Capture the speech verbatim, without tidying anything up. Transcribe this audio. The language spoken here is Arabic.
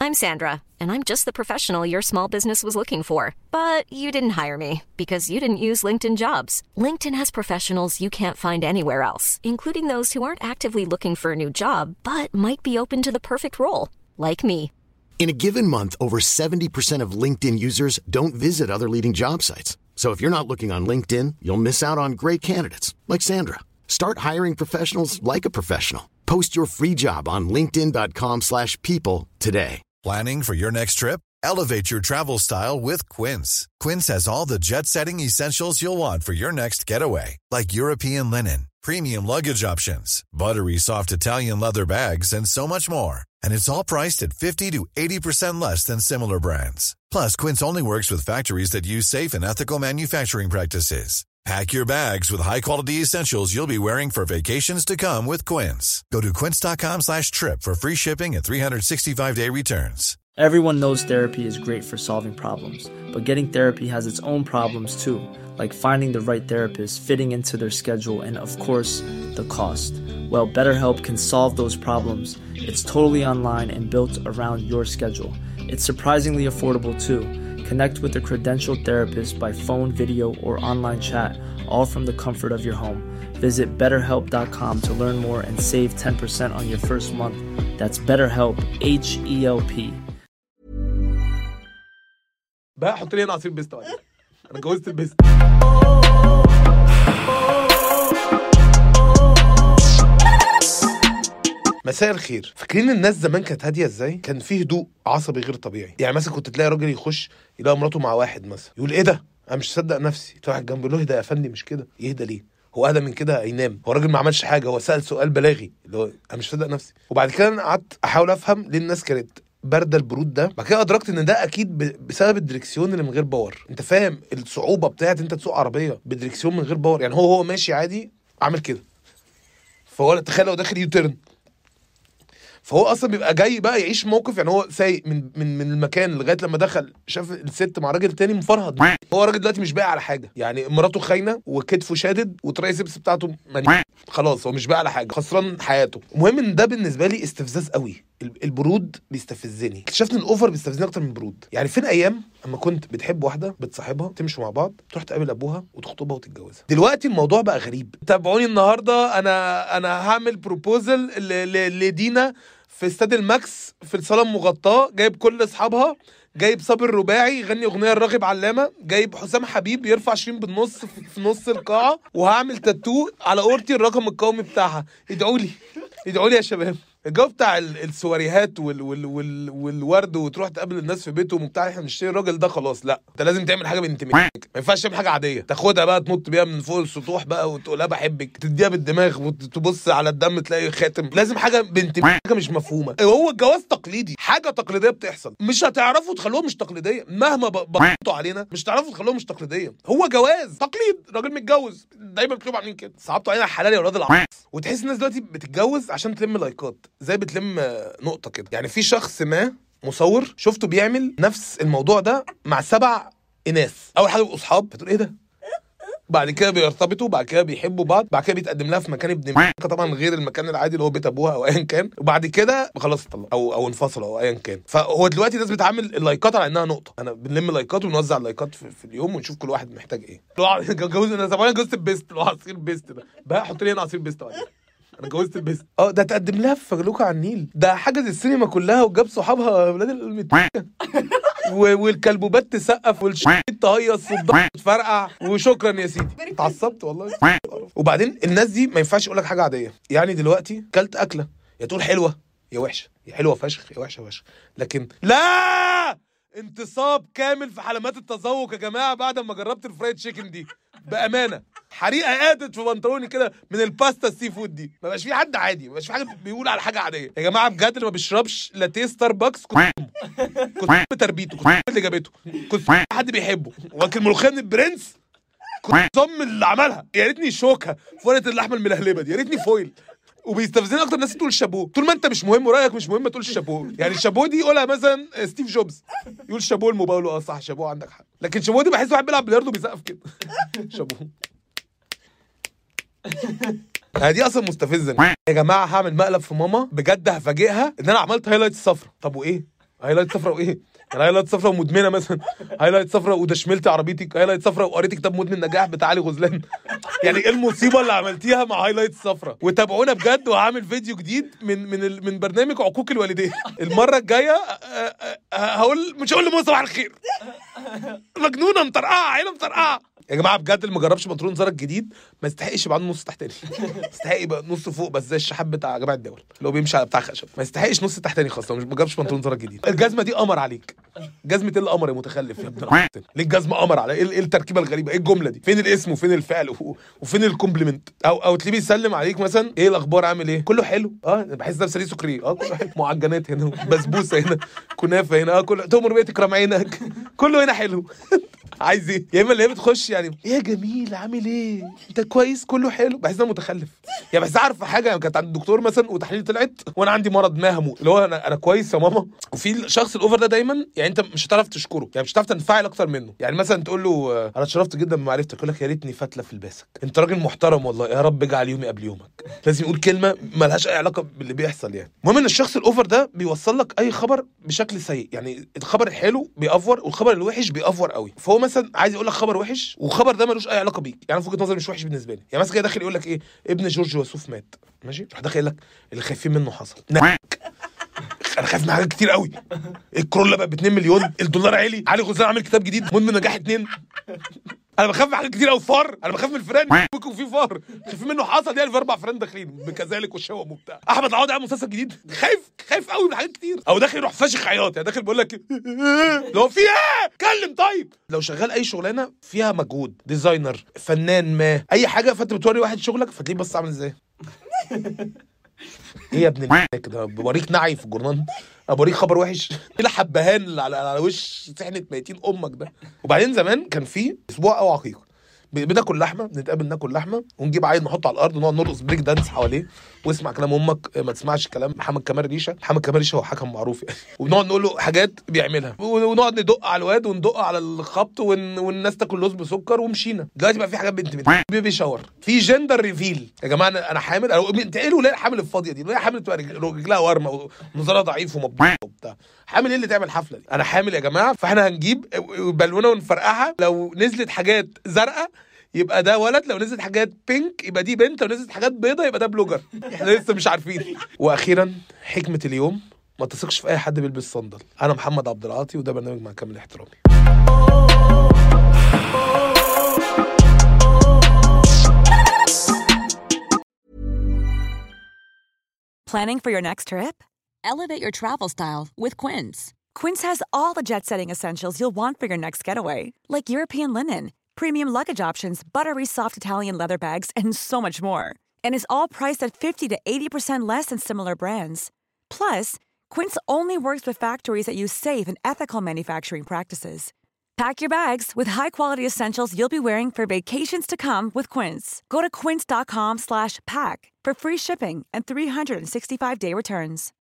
I'm Sandra, and I'm just the professional your small business was looking for. But you didn't hire me because you didn't use LinkedIn Jobs. LinkedIn has professionals you can't find anywhere else, including those who aren't actively looking for a new job, but might be open to the perfect role, like me. In a given month, over seventy percent of LinkedIn users don't visit other leading job sites. So if you're not looking on LinkedIn, you'll miss out on great candidates like Sandra. Start hiring professionals like a professional. Post your free job on linkedin dot com slash people today. Planning for your next trip? Elevate your travel style with Quince. Quince has all the jet-setting essentials you'll want for your next getaway, like European linen, premium luggage options, buttery soft Italian leather bags, and so much more. And it's all priced at fifty to eighty percent less than similar brands. Plus, Quince only works with factories that use safe and ethical manufacturing practices. Pack your bags with high-quality essentials you'll be wearing for vacations to come with Quince. Go to quince.com slash trip for free shipping and three sixty-five day returns. Everyone knows therapy is great for solving problems, but getting therapy has its own problems too, like finding the right therapist, fitting into their schedule, and of course, the cost. Well, BetterHelp can solve those problems. It's totally online and built around your schedule. It's surprisingly affordable too. Connect with a credentialed therapist by phone, video, or online chat, all from the comfort of your home. Visit better help dot com to learn more and save ten percent on your first month. That's BetterHelp, H E L P. بقى حط لي انا عصير بيست بعدين. انا جوزت البيست. مساء الخير. فاكرين الناس زمان كانت هاديه ازاي؟ كان فيه هدوء عصبي غير طبيعي. يعني مثلا كنت تلاقي راجل يخش يلاقي مراته مع واحد مثلا، يقول ايه ده؟ انا مش مصدق نفسي. تروح جنبه له، اهدى يا فندم، مش كده. يهدى ليه؟ هو اهدى من كده هينام. هو الراجل ما عملش حاجه، هو سال سؤال بلاغي اللي هو انا مش مصدق نفسي. وبعد كده انا قعدت احاول افهم ليه الناس كانت بارده البرود ده. بعد كده ادركت ان ده اكيد بسبب الدركسيون اللي من غير باور. انت فاهم الصعوبه بتاعت انت تسوق عربيه بدركسيون من غير باور؟ يعني هو هو ماشي عادي عامل كده، فهو تخيل لو داخل يوتيرن، فهو اصلا بيبقى جاي بقى يعيش موقف. يعني هو سايق من من من المكان لغايه لما دخل شاف الست مع راجل تاني مفرهد. هو راجل دلوقتي مش باقي على حاجه، يعني مراته خاينه وكتفه شادد وترايسبس بتاعته مني. خلاص هو مش باقي على حاجه، خسران حياته. المهم ان ده بالنسبه لي استفزاز قوي. البرود بيستفزني. اكتشفت ان الاوفر بيستفزني اكتر من البرود. يعني فين ايام اما كنت بتحب واحده، بتصاحبها، تمشوا مع بعض، تروح تقابل ابوها وتخطبها وتتجوزها. دلوقتي الموضوع بقى غريب. تابعوني النهارده، انا انا هعمل بروبوزل لدينا في استاد الماكس في الصاله المغطاه. جايب كل اصحابها، جايب صابر رباعي يغني اغنيه الراغب علامه، جايب حسام حبيب يرفع عشرين بالنص في نص القاعه، وهعمل تاتو على اورتي الرقم القومي بتاعها. ادعوا لي ادعوا لي يا شباب. الجو بتاع السواريهات وال وال وال والورد وتروح تقابل الناس في بيتهم وبتاع، احنا بنشتري الراجل ده خلاص. لا، انت لازم تعمل حاجه بانتمائك. ما ينفعش تعمل حاجه عاديه تاخدها بقى تنط بيها من فوق السطوح بقى وتقول لها بحبك، تديها بالدماغ وتبص على الدم تلاقي خاتم. لازم حاجه بانتمائك، حاجه مش مفهومه. هو الجواز تقليدي، حاجه تقليديه بتحصل. مش هتعرفوا تخلوها مش تقليديه مهما بطوا علينا. مش هتعرفوا تخلوها مش تقليديه. هو جواز تقليد، راجل متجوز دايما بتكتبوا عاملين كده. صعبتوا علينا الحلال يا اولاد العصر. وتحس الناس دلوقتي بتتجوز عشان تلم لايكات، زي بتلم نقطة كده. يعني في شخص ما مصور شفته بيعمل نفس الموضوع ده مع سبع إناث. أول حاجة بيبقوا أصحاب، بتقول إيه ده؟ بعد كده بيرتبطوا، بعد كده بيحبوا بعض، بعد كده بيتقدم لها في مكان ابن مكة طبعا غير المكان العادي اللي هو بيت ابوها او ايا كان، وبعد كده خلاص طلع او او انفصلوا او ايا كان. فهو دلوقتي الناس بتعامل اللايكات على انها نقطه. انا بنلم لايكات ونوزع اللايكات في, في اليوم ونشوف كل واحد محتاج ايه. جوز انا زمان جوزت البيست، لو عصير بيست ده بقى حط لي انا عصير بيست بعدين. انا جوزت البيست. اه ده تقدم لها في فجلوكه على النيل، ده حجز السينما كلها وجاب صحابها ولاد المتكه والكلبوبات تسقف والشيت تهيص والضغط تفرقع وشكرا يا سيدي. اتعصبت والله. وبعدين الناس دي ما ينفعش يقول لك حاجه عاديه. يعني دلوقتي كلت اكله يا تقول حلوه يا وحشه، يا حلوه فشخ يا وحشه فشخ، لكن لا، انتصاب كامل في حلمات التذوق يا جماعه بعد ما جربت الفرايد تشيكن دي. بامانه حريقه قادت في بنطلوني كده من الباستا السي فود دي. ما بقاش في حد عادي، ما بقاش في حاجه بيقول على حاجه عاديه يا جماعه بجد. اللي ما بيشربش لاتيه ستاربكس كنت كنت بتربيته، كنت اللي جابته، كنت حد بيحبه. واكل ملوخيه من البرنس كنت ضم اللي عملها. يا ريتني شوكه في ورقه اللحمه الملهلبه دي، يا ريتني فويل. وبيستفزني اكتر الناس تقول شابوه. طول ما انت مش مهم ورايك مش مهم ما تقولش شابوه. يعني الشابوه دي يقولها مثلا ستيف جوبز، يقول شابوه الموبايل. اه صح شابوه، عندك حق. لكن شابوه دي بحس واحد بيلعب بلياردو بيسقف كده. شابوه. دي اصلا مستفزه. يا جماعه هعمل مقلب في ماما بجد، هفاجئها ان انا عملت هايلايت الصفرا. طب وايه؟ هايلايت صفرا وايه؟ يعني هايلايت صفرا ومدمنه مثلا، هايلايت صفرا ودشملتي عربيتك، هايلايت صفرا وقريتي كتاب مدمن نجاح بتاع علي غزلان. يعني ايه المصيبه اللي عملتيها مع هايلايت صفرا؟ وتابعونا بجد، وهعمل فيديو جديد من من ال- من برنامج عقوق الوالدين المره الجايه. هقول مش هقول لمصطفى صباح الخير، مجنونه مطرقعه عيله مطرقعه. يا جماعه بجد اللي ما جربش بنطلون زارا الجديد ما يستحقش يبقى عنده نص تحتاني، يستحق يبقى نص فوق بس زي الشحاب بتاع جماعه الدول اللي هو بيمشي على بتاع خشب، ما يستحقش نص تحتاني خالص لو مش ما جربش بنطلون زارا الجديد. الجزمه دي قمر عليك، جزمه ايه القمر يا متخلف يا ابن العفن؟ ليه الجزمه قمر على ايه؟ ايه التركيبه الغريبه؟ ايه الجمله دي؟ فين الاسم وفين الفعل و- وفين الكومبلمنت؟ او او تلاقيه بيسلم عليك مثلا، ايه الاخبار عامل ايه؟ كله حلو. اه بحس نفسي ليه سكري. اه كله حلو، معجنات هنا، بسبوسه هنا، كنافه هنا، اه كله تؤمر بيه تكرم عينك، كله هنا حلو. عايز ايه؟ يا اما اللي هي بتخش يعني ايه يا جميل عامل ايه؟ انت كويس كله حلو، بحس انها متخلف. يعني بس عارفه حاجه، كانت عند الدكتور مثلا وتحليل طلعت وانا عندي مرض ما هموت، اللي هو انا انا كويس يا ماما. وفي الشخص الاوفر ده دايما يعني انت مش هتعرف تشكره، يعني مش هتعرف تنفعل اكتر منه. يعني مثلا تقول له آه، انا اتشرفت جدا بمعرفتك، يقول لك يا ريتني فتله في لباسك، انت راجل محترم والله، يا رب اجعل يومي قبل يومك. لازم يقول كلمه مالهاش اي علاقه باللي بيحصل. يعني المهم ان الشخص الاوفر ده بيوصل لك اي خبر بشكل سيء، يعني الخبر الحلو بيأفور والخبر الوحش بيأفور قوي. فهو مثلا عايز يقول لك خبر وحش وخبر ده ملوش اي علاقه بيك، يعني في وجهه نظري مش وحش بالنسبه لي. يعني مثلا كده داخل يقول لك ايه، ابن جورج وسوف مات، ماشي، راح داخل لك اللي خايفين منه حصل. انا خايف من حاجات كتير قوي، الكورولا بقى ب اتنين مليون، الدولار عالي، علي غزلان عامل كتاب جديد مدمن نجاح اتنين. انا بخاف من حاجات كتير قوي، فار، انا بخاف من الفيران، ممكن في فار خايفين منه حصل، يعني في اربع فيران داخلين بكذلك والشوم وبتاع. احمد عوض عامل مسلسل جديد، خايف خايف قوي من حاجات كتير. او داخل يروح فاشخ عياط، يعني داخل بيقول لك لو في ايه كلم. طيب لو شغال اي شغلانه فيها مجهود، ديزاينر، فنان، ما اي حاجه، فانت بتوري واحد شغلك فتلاقيه بص عامل ازاي. ايه يا ابن ال كده، بوريك نعي في الجورنال، ابوريك خبر وحش، ايه الحبهان اللي على على وش سحنه ميتين امك ده. وبعدين زمان كان في اسبوع او عقيقه بناكل لحمه، بنتقابل ناكل لحمه ونجيب عيل نحطه على الارض ونقعد نرقص بريك دانس حواليه، واسمع كلام امك ما تسمعش كلام محمد كمال ريشه. محمد كمال ريشه هو حكم معروف يعني. وبنقعد نقول له حاجات بيعملها ونقعد ندق على الواد وندق على الخبط ون... والناس تاكل لوز بسكر ومشينا. دلوقتي بقى في حاجات بنت بنت بيبي شاور، في جندر ريفيل. يا جماعه انا انا حامل، انت ايه الولايه الحامل الفاضيه دي؟ الولايه حامل تبقى رجلها ورمه ونظرها ضعيف ومبطوط وبتاع، حامل ايه اللي تعمل حفله دي؟ انا حامل يا جماعه، فاحنا هنجيب بالونه ونفرقعها، لو نزلت حاجات زرقاء يبقى ده ولد، لو نزلت حاجات بينك يبقى دي بنت، لو نزلت حاجات بيضة يبقى ده بلوجر. احنا لسه مش عارفين. واخيرا حكمة اليوم، ما تثقش في اي حد بيلبس صندل. انا محمد عبد العاطي وده برنامج مع كامل احترامي. Planning for your next trip? Elevate your travel style with Quince. Quince has all the jet-setting essentials you'll want for your next getaway, like European linen, premium luggage options, buttery soft Italian leather bags, and so much more. And is all priced at fifty to eighty percent less than similar brands. Plus, Quince only works with factories that use safe and ethical manufacturing practices. Pack your bags with high-quality essentials you'll be wearing for vacations to come with Quince. Go to quince.com slash pack for free shipping and three sixty-five day returns.